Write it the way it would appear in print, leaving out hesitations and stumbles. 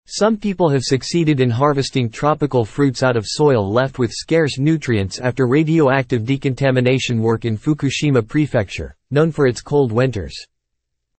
Some people have succeeded in harvesting tropical fruits out of soil left with scarce nutrients after radioactive decontamination work in Fukushima Prefecture, known for its cold winters.